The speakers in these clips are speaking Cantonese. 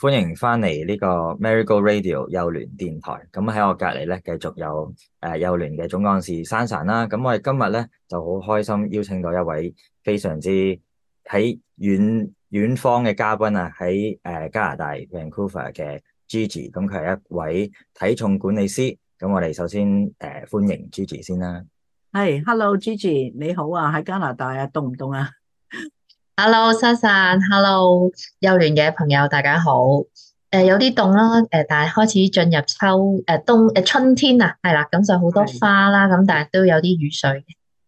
歡迎翻嚟呢個 Marigo Radio 幼聯電台。咁喺我隔離咧，繼續有幼聯嘅總幹事珊珊啦。咁我哋今日咧就好開心邀請到一位非常之喺遠方嘅嘉賓啊，喺加拿大 Vancouver 嘅 Gigi。咁佢係一位體重管理師。咁我哋首先歡迎 Gigi 先啦。 係，Hello，Gigi，你好啊，喺加拿大啊，凍唔凍啊？ Hello，珊珊，Hello，幼聯嘅朋友，大家好。有啲凍啦，但係開始進入春天啊，係啦，咁就好多係花啦，咁但係都有啲雨水。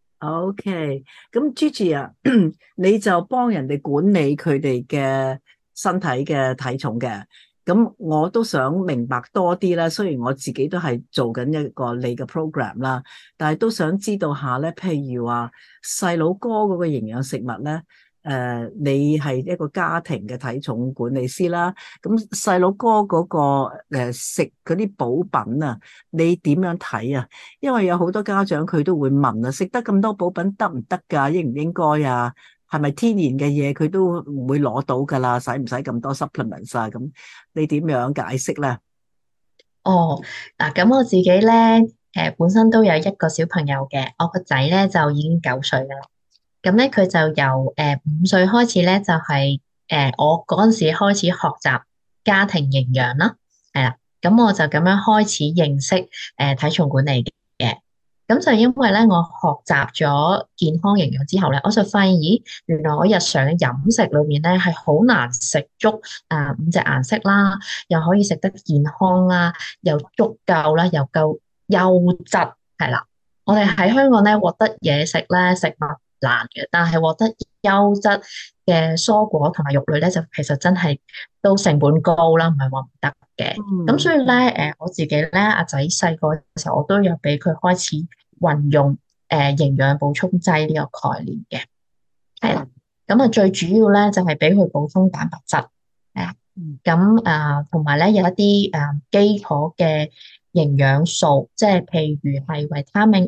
，OK。咁 Gigi 啊，你就幫人哋管理佢哋嘅身體嘅體重嘅。咁我都想明白多啲啦。雖然我自己都係做緊一個你嘅 program 啦，但係都想知道下咧，譬如話細佬哥嗰個營養食物咧。你係一個家庭嘅體重管理師啦，咁細佬哥嗰個食嗰啲補品啊，你點樣睇啊？因為有好多家長佢都會問啊，食得咁多補品得唔得㗎？應唔應該啊？係咪天然嘅嘢佢都唔會攞到㗎啦？使唔使咁多 supplements 啊？咁你點樣解釋咧？ 哦，嗱，咁我自己咧，本身都有一個小朋友嘅，我個仔咧就已經9歲㗎啦。咁咧佢就由5歲開始咧，就係我嗰陣時開始學習家庭營養啦，係啦，咁我就咁樣開始認識體重管理嘅。咁就因為咧我學習咗健康營養之後咧，我就發現，咦，原來我日常嘅飲食裏面咧係好難食足五隻顏色啦，又可以食得健康啦，又足夠啦，又夠優質，係啦。我哋喺香港咧獲得嘢食咧食物難嘅，但係獲得優質嘅蔬果同埋肉類咧，就其實真係都成本高啦，唔係話唔得嘅。咁所以咧，我自己咧，阿仔細個嘅時候，我都有俾佢開始運用營養補充劑呢個概念嘅，係啦。咁啊，最主要咧就係俾佢補充蛋白質，誒，咁同埋咧有一啲基礎嘅營養素，即係譬如係維他命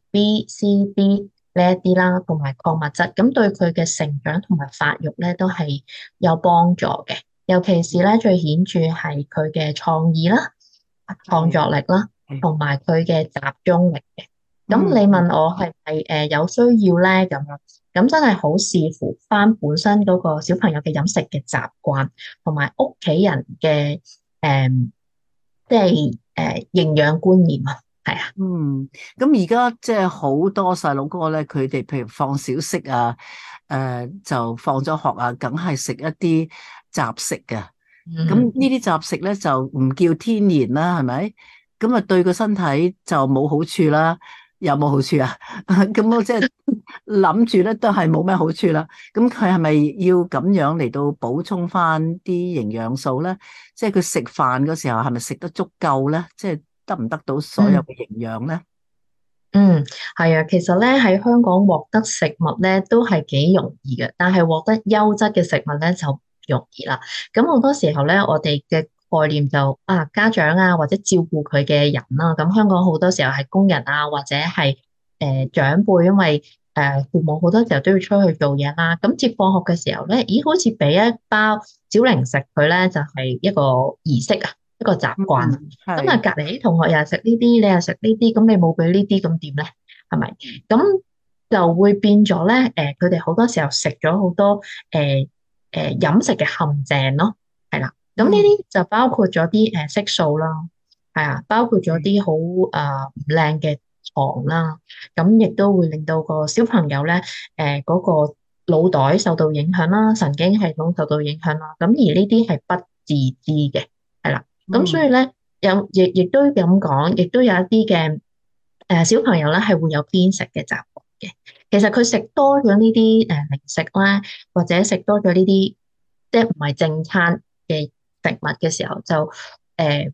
A、B、C、D 呢一啲啦，同埋礦物質，咁對佢嘅成長同埋發育咧都係有幫助嘅。尤其是咧最顯著係佢嘅創意啦、創係作力啦，同埋佢嘅集中力嘅。咁嗯。 你問我係咪有需要咧咁樣？咁真係好視乎翻本身嗰個小朋友嘅飲食嘅習慣，同埋屋企人嘅即係營養觀念啊，係啊。 嗯，咁而家即係好多細佬哥咧，佢哋譬如放小息啊，就放咗學啊，梗係食一啲雜食嘅。咁嗯。 呢啲雜食咧就唔叫天然啦，係咪？咁啊對個身體就冇好處啦，有冇好處啊？咁我即係諗住咧都係冇咩好處啦。咁佢係咪要咁樣嚟到補充翻啲營養素咧？即係佢食飯嗰時候係咪食得足夠咧？即係得唔得到所有嗯。 嘅營養咧？ 嗯，係啊，其實咧喺香港獲得食物咧都係幾容易嘅，但係獲得優質嘅食物咧就唔容易啦。咁好多時候咧，我哋嘅概念就家長啊或者照顧佢嘅人啦，咁香港好多時候係工人啊或者係長輩，因為父母好多時候都要出去做嘢啦，咁接放學嘅時候咧，咦，好似俾一包小零食佢咧，就係一個儀式啊，一個習慣啊。 嗯， 咁啊， 係， 隔離啲同學又係食呢啲，你又食呢啲，咁你冇俾呢啲，咁點咧？係咪？咁就會變咗咧。佢哋好多時候食咗好多飲食嘅陷阱咯，係啦。咁呢嗯， 啲就包括咗啲色素啦，係啊，包括咗啲好唔靚嘅糖啦。咁亦都會令到個小朋友咧嗰個腦袋受到影響啦，神經系統受到影響啦。咁而呢啲係不自知嘅，係啦。咁所以嗯， 咧。亦都咁講，亦都有一啲嘅小朋友咧係會有偏食嘅習慣嘅。其實佢食多咗呢啲零食啦，或者食多咗呢啲即係唔係正餐嘅食物嘅時候，就誒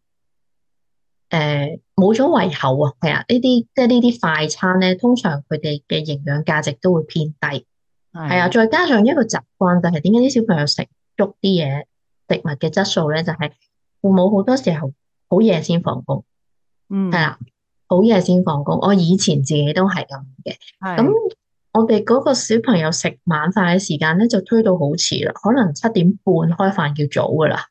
冇咗胃口啊。係啊，呢啲即係呢啲快餐咧，通常佢哋嘅營養價值都會偏低。係啊， 係， 再加上一個習慣就係點解啲小朋友食足啲嘢食物嘅質素咧，就係父母好多時候好夜先放工。係嗯， 啦，好夜先放工。我以前自己都係咁嘅。咁係， 我哋嗰個小朋友食晚飯嘅時間咧，就推到好遲啦，可能7點半開飯叫早噶啦。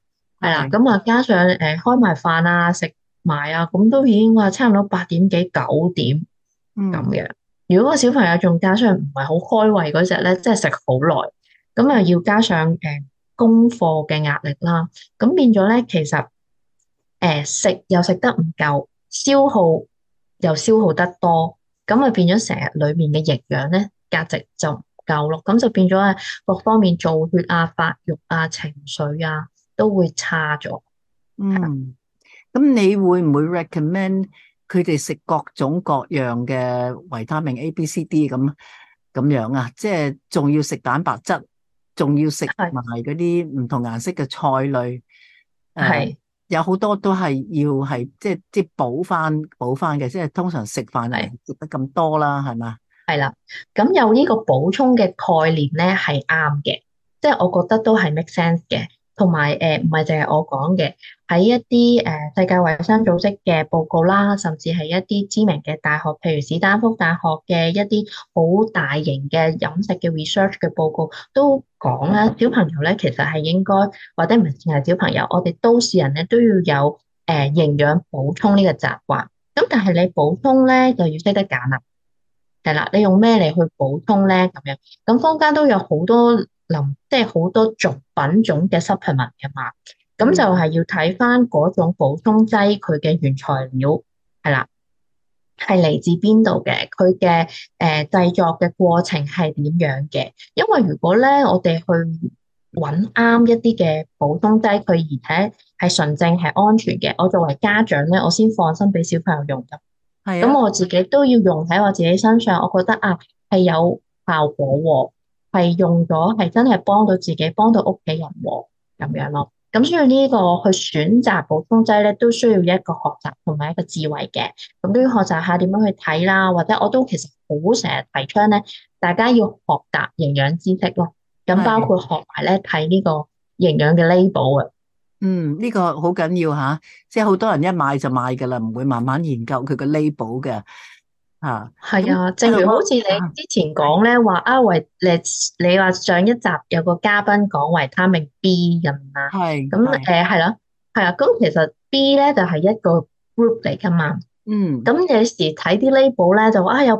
係啦，咁啊加上開埋飯啊，食埋啊，咁都已經話差唔多8點幾9點咁樣。如果個小朋友仲加上唔係好開胃嗰隻咧，即係食好耐，咁啊要加上功課嘅壓力啦，咁變咗咧其實食又食得唔夠，消耗又消耗得多，咁啊變咗成日裏面嘅營養咧價值就唔夠咯，咁就變咗各方面造血啊、發育啊、情緒啊都會差咗。 嗯，咁你會唔會 recommend 佢哋食各種各樣嘅維他命 A、B、C、D 咁樣啊？即係仲要食蛋白質，仲要食係埋嗰啲唔同顏色嘅菜類， 係有好多都係要係即係補翻嘅，即係通常食飯就唔係食得咁多啦，係嘛？ 係啦，咁有呢個補充嘅概念咧係啱嘅，即係我覺得都係 make sense 嘅，同埋唔係淨係我講嘅，喺一啲世界衛生組織嘅報告啦，甚至係一啲知名嘅大學，譬如史丹福大學嘅一啲好大型嘅飲食嘅 research 嘅報告都講啦，小朋友咧其實係應該，或者唔係淨係小朋友，我哋都市人咧都要有營養補充呢個習慣，咁但係你補充咧就要識得揀啦。係啦，你用咩嚟去補充咧？咁樣，咁坊間都有好多即係好多品種嘅 supplement 嘅嘛，咁就係要睇翻嗰種補充劑佢嘅原材料係啦，係嚟自邊度嘅，佢嘅製作嘅過程係點樣嘅？因為如果咧我哋去揾啱一啲嘅補充劑，佢而且係純正係安全嘅，我作為家長咧，我先放心俾小朋友用㗎。 係啊， 咁我自己都要用喺我自己身上，我覺得係有效果喎，係用咗係真係幫到自己，幫到屋企人喎，咁樣咯。咁所以呢個去選擇補充劑咧，都需要一個學習同埋一個智慧嘅。咁都要學習下點樣去睇啦，或者我都其實好成日提倡咧，大家要學習營養知識咯。咁包括學埋咧睇呢個營養嘅 label 啊。 呢個好緊要吓，即係好多人一買就買噶啦，唔會慢慢研究佢個 label 嘅吓。 係啊，正如好似你之前講咧，話你話上一集有個嘉賓講維他命 B 咁啦，咁係啦，係啊，咁其實 B 咧就係一個 group 嚟噶嘛，咁有時睇啲 label 咧就話有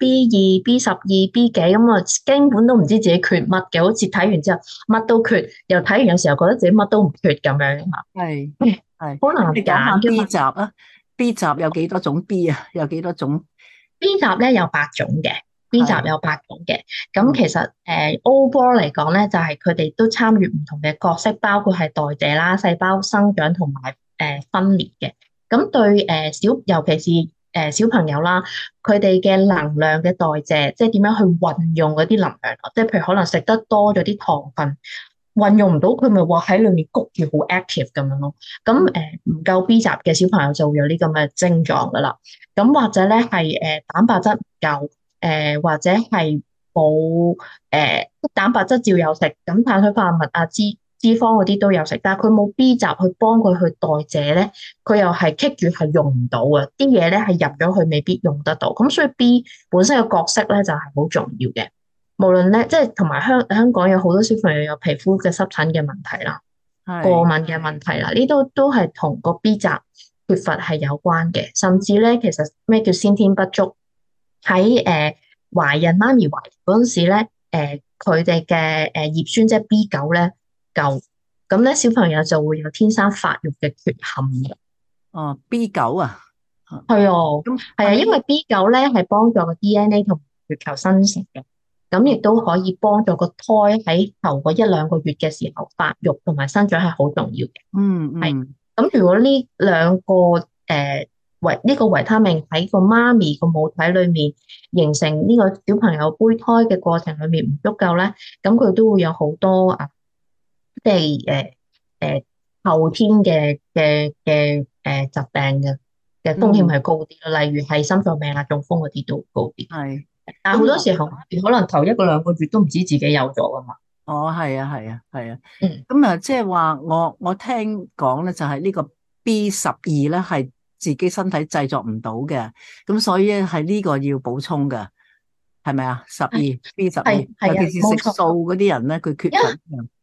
B1、B2、B12、B 幾咁啊，根本都唔知自己缺乜嘅，好似睇完之後乜都缺，又睇完有時候覺得自己乜都唔缺咁樣啊， 係好難你講下揀 B 集啊？B 集有幾多種 B 啊？有幾多種？ B 集咧有8種嘅，B 集有8種嘅。咁其實overall 嚟講咧，就係佢哋都參與唔同嘅角色，包括係代謝啦、細胞生長同埋分裂嘅。咁對尤其是小朋友啦，佢哋嘅能量嘅代謝，即係點樣去運用嗰啲能量，即係譬如可能食得多咗啲糖分，運用唔到，佢咪話喺裏面谷住好 active 咁樣咯。咁唔夠 B 集嘅小朋友就會有呢咁嘅症狀噶啦。咁或者咧係蛋白質唔夠，或者係冇蛋白質照有食，咁碳水化合物啊、脂肪嗰啲都有食，但係佢冇 B 集去幫佢去代謝咧，佢又係棘住係用唔到啊！啲嘢咧係入咗去未必用得到，咁所以 B 本身嘅角色咧就係好重要嘅。無論咧，即係同埋香港有好多小朋友有皮膚嘅濕疹嘅問題啦，過敏嘅問題啦，呢都係同個 B 集缺乏係有關嘅，甚至咧其實咩叫先天不足？喺懷孕媽咪懷孕嗰陣時咧，佢哋嘅葉酸即係 B9咧夠，咁咧小朋友就會有天生發育嘅缺陷嘅。 哦，B9啊， 係啊，係啊，因為 B9咧係幫助個 DNA 同血球生成嘅。咁亦都可以幫助個胎喺頭嗰1-2個月嘅時候發育同埋生長係好重要嘅。係。咁如果呢兩個呢個維他命喺個媽咪個母體裏面形成呢個小朋友胚胎嘅過程裏面唔足夠咧，咁佢都會有好多即係後天嘅疾病嘅風險係高啲，例如係心臟病啊、中風嗰啲都高啲。係。但係好多時候可能頭1-2個月都唔知自己有咗啊嘛。 哦，係啊，係啊，係啊。咁啊，即係話我聽講咧，就係呢個 B12咧係自己身體製作唔到嘅，咁所以係呢個要補充嘅，係咪啊？B12，尤其是食素嗰啲人咧，佢缺乏。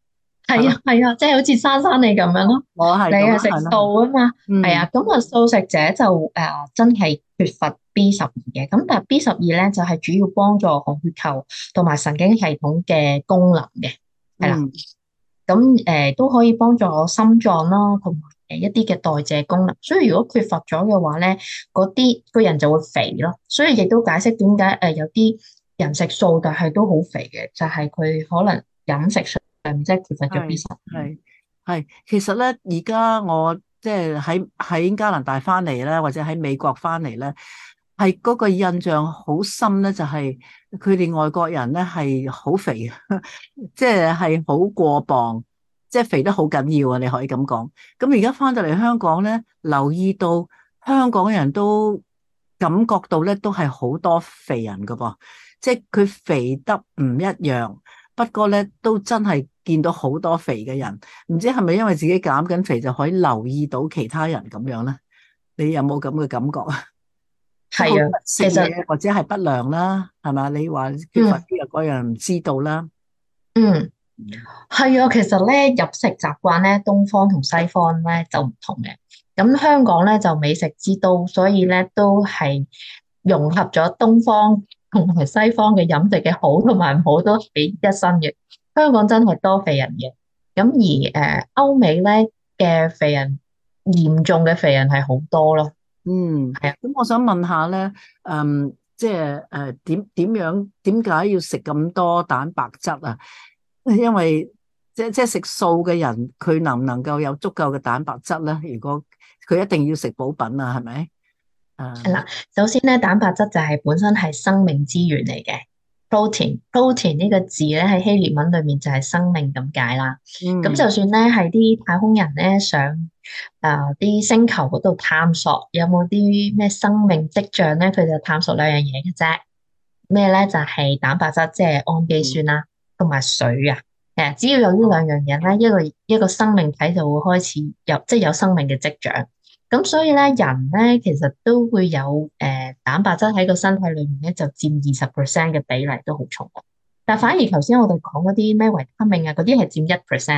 係啊係啊，即係好似珊你咁樣咯。 我係咁啦， 你係食係啦， 素啊嘛，係嗯啊，咁啊素食者就真係缺乏 B12嘅，咁但係 B12咧就係主要幫助紅血球同埋神經系統嘅功能嘅，係啦， 嗯。 咁都可以幫助心臟啦，同埋一啲嘅代謝功能。所以如果缺乏咗嘅話咧，嗰啲個人就會肥咯。所以亦都解釋點解有啲人食素但係都好肥嘅，就係佢可能飲食上面即係缺乏咗係 B12。 係係，其實咧，而家我即係喺加拿大翻嚟咧，或者喺美國翻嚟咧，係嗰個印象好深咧，就係佢哋外國人咧係好肥，即係好過磅，即係肥得好緊要啊！你可以咁講。咁而家翻到嚟香港咧，留意到香港人都感覺到咧，都係好多肥人噶噃，即係佢肥得唔一樣。不過咧，都真係見到好多肥嘅人，唔知係咪因為自己減緊肥就可以留意到其他人咁樣咧？你有冇咁嘅感覺啊？即係好多係啊， 人食其實嘢或者係不良啦，係嘛？你話缺乏呢嗯樣嗰樣唔知道啦。 嗯。係啊，其實咧飲食習慣咧，東方同西方咧就唔同嘅。咁香港咧就美食之都，所以咧都係融合咗東方同埋西方嘅飲食嘅好同埋唔好都喺一身嘅。香港真係多肥人嘅，咁而歐美咧嘅肥人嚴重嘅肥人係好多咯。 嗯， 係啊， 咁我想問下咧，即係點解要食咁多蛋白質啊？因為即係食素嘅人，佢能唔能夠有足夠嘅蛋白質咧？如果佢一定要食補品啊，係咪？ 係啦，首先咧蛋白質就係本身係生命之源嚟嘅。protein 呢個字咧喺希臘文裏面就係生命咁解啦。咁嗯就算咧係啲太空人咧上啲星球嗰度探索，有冇啲咩生命跡象咧？佢就探索兩樣嘢嘅啫。咩咧？就係蛋白質，即係氨基酸啦，同埋水啊。只要有呢兩樣嘢咧，一個生命體就會開始有即係有生命嘅跡象。咁所以咧，人咧其實都會有蛋白質喺個身體裏面咧，就佔20%嘅比例都好重嘅。但反而頭先我哋講嗰啲咩維他命啊，嗰啲係佔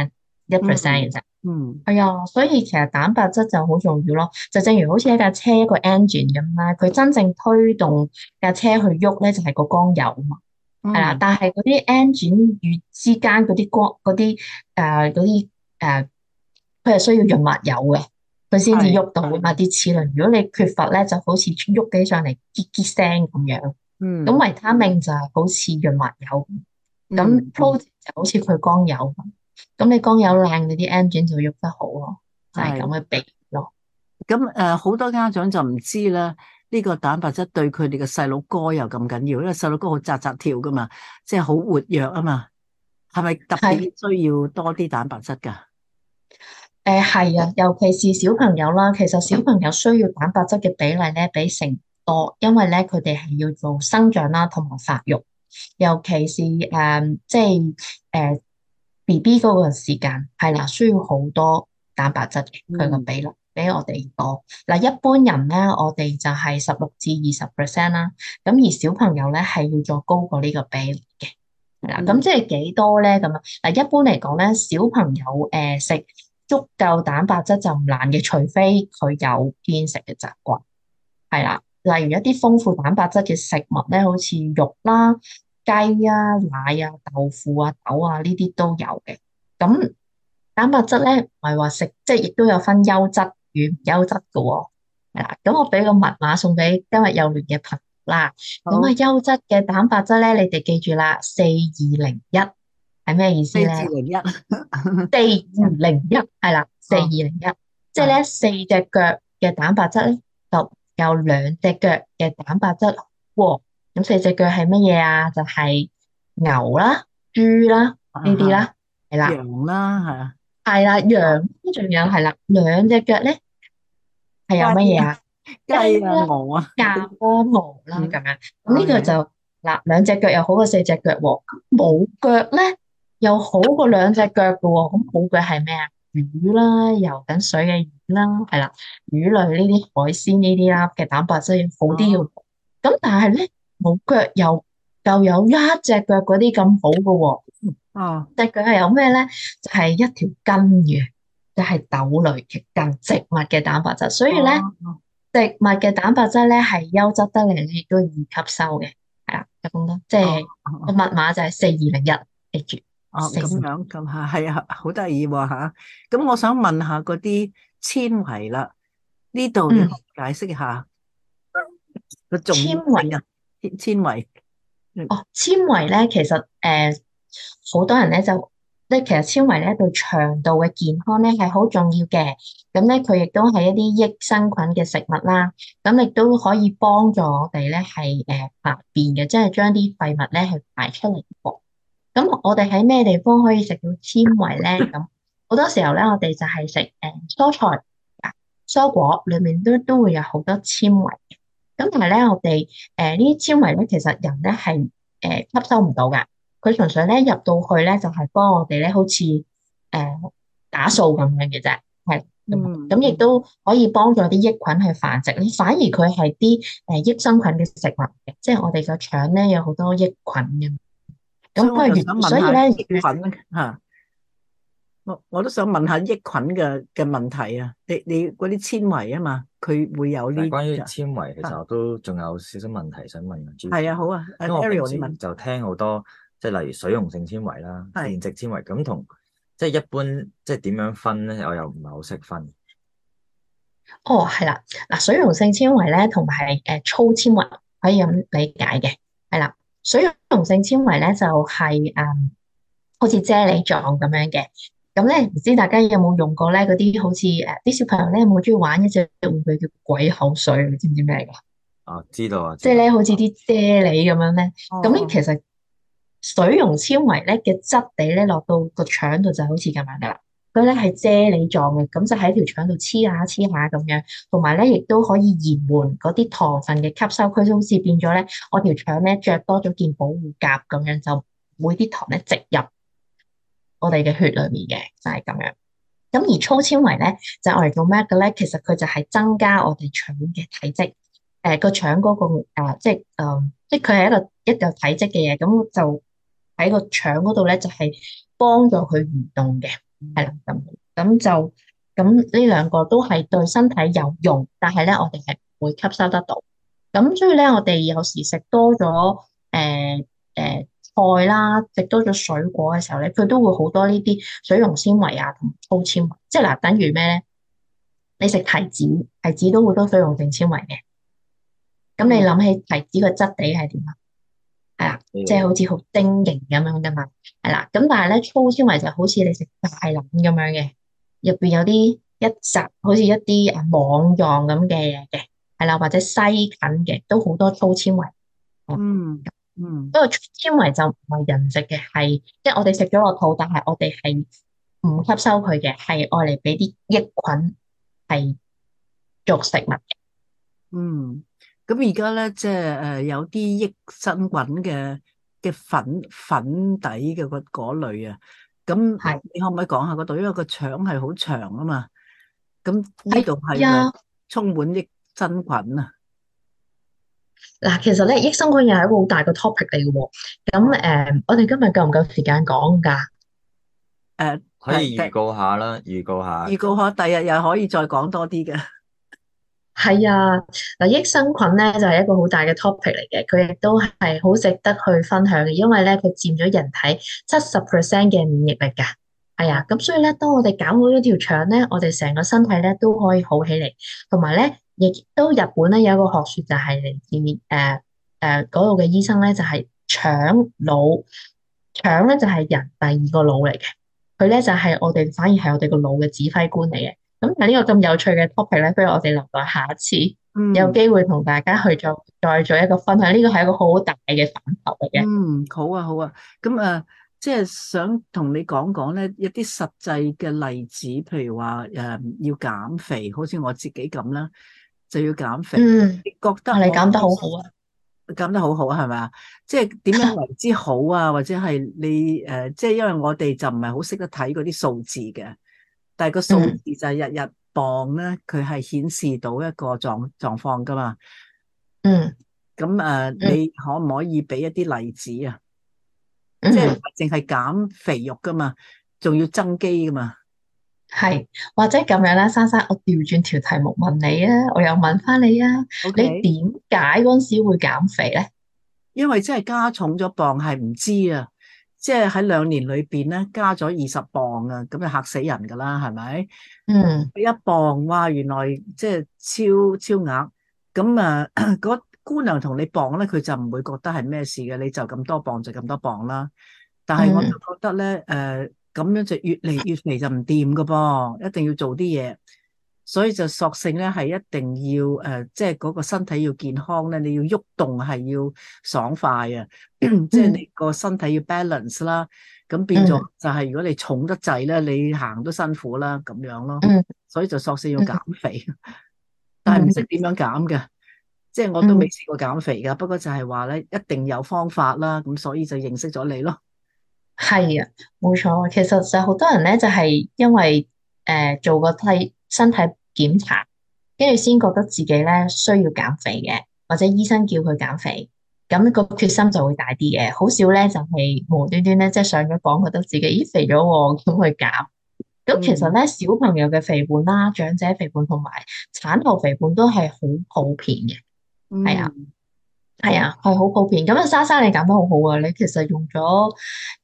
1%嘅啫。 嗯係啊，所以其實蛋白質就好重要咯。就正如好似一架車一個 engine 咁啦，佢真正推動架車去喐咧，就係個缸油啊嘛。係啦， 嗯， 但係嗰啲 engine 與之間嗰啲光誒，佢係需要潤滑油嘅，佢先至係喐到啊嘛啲齒輪。如果你缺乏咧，就好似喐起上嚟嘰嘰聲咁樣。咁嗯維他命就係好似潤滑油，咁嗯 protein 就好似佢缸油咁。咁你缸油靚，你啲 engine 就喐得好咯，就係咁係。 嘅比喻咯。 咁好多家長就唔知啦，呢個蛋白質對佢哋嘅細佬哥又咁緊要，因為細佬哥好扎扎跳噶嘛，即係好活躍啊嘛，係咪特別係。 需要多啲蛋白質㗎？ 係啊，尤其是小朋友啦，其實小朋友需要蛋白質嘅比例咧比成多，因為咧佢哋係要做生長啦，同埋發育，尤其是即係BB 嗰個時間係啦，需要好多蛋白質嘅，佢個嗯比例比我哋多。嗱，一般人咧，我哋就係16至20%啦，咁而小朋友咧係要再高過呢個比例嘅。係啦，咁嗯即係幾多咧？咁啊，嗱，一般嚟講咧，小朋友食足夠蛋白質就唔難嘅，除非佢有偏食嘅習慣。係啦，例如一啲豐富蛋白質嘅食物咧，好似肉啦、雞啊、奶啊、豆腐啊、豆啊呢啲都有嘅。咁蛋白質咧唔係話食，即係亦都有分優質與唔優質嘅喎。係啦，咁我俾個密碼送俾今日幼聯嘅朋友啦。咁啊， 好， 優質嘅蛋白質咧，你哋記住啦4201係咩意思四至咧？ 零一， 4201係啦，四二哦， 零一，即係係咧4隻腳嘅蛋白質咧，就有2隻腳嘅蛋白質喎。咁4隻腳係乜嘢啊？就係牛啦、豬啦啊呢啲哈， 啦，係啦， 羊啦，係啊， 係啦，羊仲有係啦，2隻腳咧係有乜雞啊， 嘢啊？雞雞啊， 啦、 鵝啊， 鴨啦、鵝啦嗯咁樣。咁呢個 ，OK， 就嗱2隻腳又好過4隻腳喎。咁冇腳咧又好過2隻腳嘅喎。咁冇腳係咩啊？魚啦，游緊水嘅魚啦，係啦，魚類呢啲海鮮呢啲啦嘅蛋白質要好啲哦， 嘅。咁但係咧冇腳又有1隻腳嗰啲咁好嘅喎。 哦但係佢係有咩咧？就係一條根嘅，就係豆類嘅根，植物嘅蛋白質。所以咧， 哦植物嘅蛋白質咧係優質得嚟咧，亦都易吸收嘅。係啊，就咁多。即哦係個哦密碼就係4201，記住哦，咁四二。 樣咁係啊，好得意喎吓。咁我想問下嗰啲纖維啦，呢度你可嗯， 唔可以解釋下個重要纖維。 性啊？纖維，嗯哦，纖維咧，其實好多人咧就其實纖維咧對腸道嘅健康咧係好重要嘅。咁咧佢亦都係一啲益生菌嘅食物啦。咁亦都可以幫助我哋咧係排便嘅，即係將啲廢物咧係排出嚟。咁我哋喺咩地方可以食到纖維咧？咁好多時候咧，我哋就係食蔬菜啊、蔬果，裏面都會有好多纖維。咁但係咧，我哋呢啲纖維咧，其實人咧係吸收唔到㗎。佢純粹咧入到去咧，就係幫我哋咧，好似打掃咁樣嘅啫，係咁亦嗯嗯， 都可以幫助啲益菌去繁殖。反而佢係啲益生菌嘅食物嘅，即係我哋個腸咧有好多益菌嘅。 所以我就咁想問下所以咧， 益菌吓，我都想問下益菌嘅問題啊。你嗰啲纖維啊嘛，佢會有呢？ 但係關於纖維，其實啊， 我都仲有少少問題想問係 Gigi， 啊，好啊， 因為我平 Ariel 你問， 時就聽好多即係例如水溶性纖維啦、 係。 變質纖維咁同即係一般即係點樣分咧？我又唔係好識分。 哦，係啦，嗱，水溶性纖維咧，同埋粗纖維可以咁理解嘅，係啦。水溶性纖維咧就係好似啫喱狀咁樣嘅。咁咧唔知大家有冇用過咧？嗰啲好似啲小朋友咧有冇中意玩一隻玩具叫鬼口水？你知唔知咩嚟㗎？ 啊，知道啊， 即係知道。 咧好似啲啫喱咁樣咧。 哦咁咧其哦， 實水溶纖維咧嘅質地咧落到個腸度就好似咁樣噶啦。佢咧係啫喱狀嘅，咁就喺條腸度黐下黐下咁樣，同埋咧亦都可以延緩嗰啲糖分嘅吸收。佢就好似變咗咧，我條腸咧着多咗件保護甲咁樣，就唔會啲糖咧直入我哋嘅血裏面嘅，就係咁樣。咁而粗纖維咧就係我哋做咩嘅咧？其實佢就係增加我哋腸嘅體積。個腸嗰個即係佢係一個體積嘅嘢，咁就喺個腸嗰度咧就係幫助佢移動嘅。係啦，咁呢兩個都係對身體有用，但係咧我哋係唔會吸收得到。咁所以咧，我哋有時食多咗菜啦，食多咗水果嘅時候咧，佢都會好多呢啲水溶纖維啊，同埋粗纖維。即係嗱，等於咩咧？你食提子，提子都好多水溶性纖維嘅。咁你嗯諗起提子個質地係點啊？係啦，即係好似好晶瑩咁樣噶嘛。係啦，咁但係咧粗纖維就好似你食大欖咁樣嘅，入邊有啲一紮好似一啲網狀咁嘅嘢嘅，係啦，或者西芹嘅，都好多粗纖維。 嗯嗯。 不過纖維就唔係人食嘅，係即係我哋食咗落肚，但係我哋係唔吸收佢嘅，係愛嚟俾啲益菌係做食物嘅。 嗯，咁而家咧，即係有啲益生菌嘅粉底嘅嗰類啊，咁係你可唔可以講下嗰度？因為個腸係好長啊嘛，咁呢度係咪係啊。 充滿益生菌啊？ 嗱，其實咧，益生菌又係一個好大嘅 topic 嚟嘅喎。咁哦， 我哋今日夠唔夠時間講㗎？ 可以預告下啦，預告下。 預告下，第日又可以再講多啲嘅。 係啊，嗱，益生菌咧就係一個好大嘅 topic 嚟嘅，佢亦都係好值得去分享嘅，因為咧佢佔咗人體70%嘅免疫力㗎。係啊，咁所以咧，當我哋搞好咗條腸咧，我哋成個身體咧都可以好起嚟，同埋咧，亦都日本咧有一個學説就係嚟自嗰度嘅醫生咧，就係腸腦，腸咧就係人第二個腦嚟嘅，佢咧就係我哋反而係我哋個腦嘅指揮官嚟嘅。咁但係呢個咁有趣嘅 topic 咧，不如我哋留待下一次有嗯機會同大家去再做一個分享。呢個係一個好大嘅範疇嚟嘅。 嗯，好啊好啊，咁即係想同你講講咧一啲實際嘅例子，譬如話要減肥，好似我自己咁啦，就要減肥。 嗯， 你覺得你講得我好好啊。 減得好好係咪啊？即係點樣為之好啊？或者係你即係因為我哋就唔係好識得睇嗰啲數字嘅，但係個數字嗯就係日日磅咧，佢係顯示到一個狀況噶嘛。 嗯咁嗯。 你可唔可以俾一啲例子啊？ 即係唔嗯， 係淨係減肥肉噶嘛，仲要增肌噶嘛。 係，或者咁樣啦，珊珊，我調轉條題目問你啊，我又問翻你啊，你 OK， 點解嗰陣時會減肥咧？ 因為真係加重咗磅係唔知啊，即係喺2年裏邊咧加咗20磅啊，咁就嚇死人噶啦，係咪？ 嗯 1磅，哇，原來即係超額。咁啊，嗰姑娘同你磅咧，佢就唔會覺得係咩事嘅，你就咁多磅就咁多磅啦。但係我就嗯覺得咧，咁樣就越嚟越肥就唔掂噶噃，一定要做啲嘢。所以就索性咧係一定要即係嗰個身體要健康咧，你要喐動係要爽快啊，即係嗯你個身體要 balance 啦。咁變咗嗯就係如果你重得滯咧，你行都辛苦啦，咁樣咯。 嗯所以就索性要減嗯肥，但係唔嗯識點樣減嘅，即係我都未嗯， 試過減肥噶。不過就係話咧，一定有方法啦。咁所以就認識咗你咯。 係啊，冇錯。其實就好多人咧，就係因為做個身體檢查，跟住先覺得自己咧需要減肥嘅，或者醫生叫佢減肥，咁個決心就會大啲嘅。好少咧就係無端端咧即係上咗磅，覺得自己咦肥咗喎，咁去減。咁其實嗯咧，小朋友嘅肥胖啦、長者肥胖同埋產後肥胖都係好普遍嘅。係啊， 嗯， 係啊，係好普遍。咁啊，莎莎你減得好好啊！你其實用咗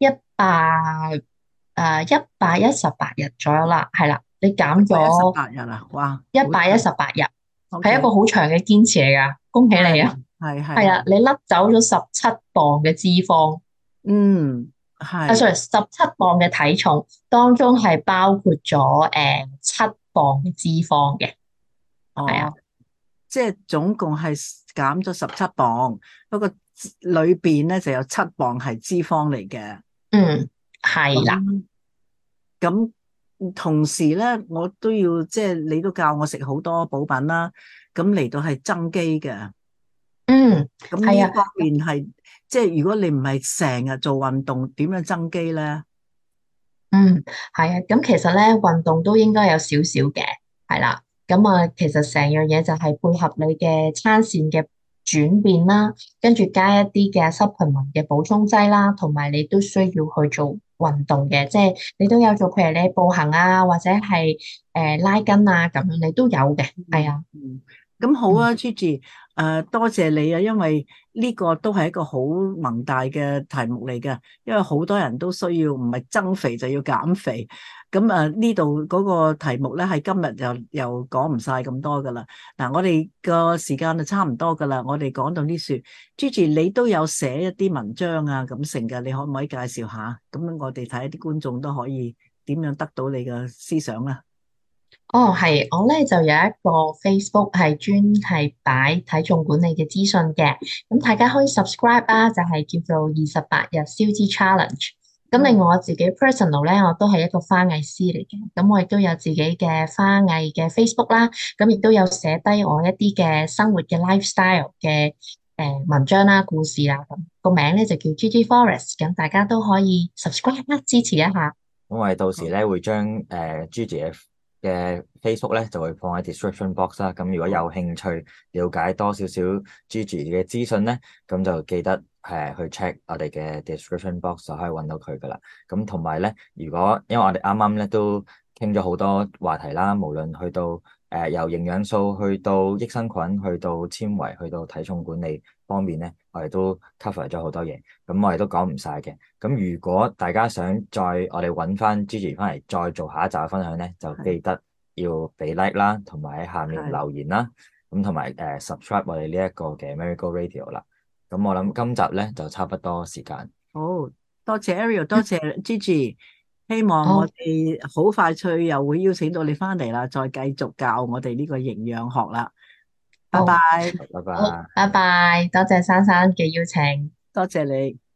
118日左右啦，係啦，你減我一十咗八日啊，哇， 一好長。 百一十八日，係一個 OK， 好長嘅堅持嚟噶，恭喜你啊！ 係係係係啊， 係， 你甩走咗17磅嘅脂肪， 嗯，係。 sorry，17磅嘅體重當中係包括咗7磅嘅脂肪嘅，係啊， 哦，即係總共係減咗17磅，不過裏邊咧就有7磅係脂肪嚟嘅。 嗯，係啦。 咁咁同時咧，我都要即係你都教我食好多補品啦，咁嚟到係增肌嘅。 嗯，係啊， 咁呢方面係即係如果你唔係成日做運動，點樣增肌咧？ 嗯，係啊，咁其實咧運動都應該有少少嘅，係啦，咁啊，其實成樣嘢就係配合你嘅餐膳嘅轉變啦，跟住加一啲嘅 supplement 嘅補充劑啦，同埋你都需要去做運動嘅，即係你都有做，譬如你步行啊，或者係拉筋啊咁樣，你都有嘅，係啊， 嗯，咁好嗯。 啊，Gigi，多謝你啊，因為呢個都係一個好宏大嘅題目嚟嘅，因為好多人都需要唔係增肥就要減肥，咁呢度嗰個題目咧係今日又講唔晒咁多噶啦，嗱我哋個時間就差唔多噶啦，我哋講到呢處，Gigi 你都有寫一啲文章啊咁成嘅，你可唔可以介紹下？咁我哋睇啲觀眾都可以點樣得到你嘅思想啊？ 哦，係，我咧就有一個 Facebook 係專係擺體重管理嘅資訊嘅，咁大家可以 subscribe 啊，就係叫做28日燒脂 challenge。咁另外我自己 personal 咧，我都係一個花藝師嚟嘅，咁我亦都有自己嘅花藝嘅 Facebook 啦，咁亦都有寫低我一啲嘅生活嘅 lifestyle 嘅文章啦、故事啦，咁個名咧就叫 Gigi Forest，咁大家都可以 subscribe 啦，支持一下。 咁我哋到時咧會將Gigi 嘅 Facebook 咧就會放喺 description box 啦。咁如果有興趣了解多少少 Gigi 嘅資訊咧，咁就記得去 check 我哋嘅 description box 就可以揾到佢噶啦。咁同埋咧，如果因為我哋啱啱咧都傾咗好多話題啦，無論去到由營養素去到益生菌，去到纖維，去到體重管理方面咧，我哋都 cover 咗好多嘢。咁我哋都講唔晒嘅。咁如果大家想再我哋揾翻 Gigi 翻嚟再做下一集嘅分享咧，就記得要俾 like 啦，同埋喺下面係留言啦。咁同埋subscribe 我哋呢一個嘅 Marigo Radio 啦。咁我諗今集咧就差不多時間。 好，多謝 Ariel，多謝 Gigi，希望我好， 哋好快脆又會邀請到你翻嚟啦，再繼續教我哋呢個營養學啦。拜好， 拜， 拜好， 拜。 拜拜，多謝珊珊嘅邀請。 多謝你。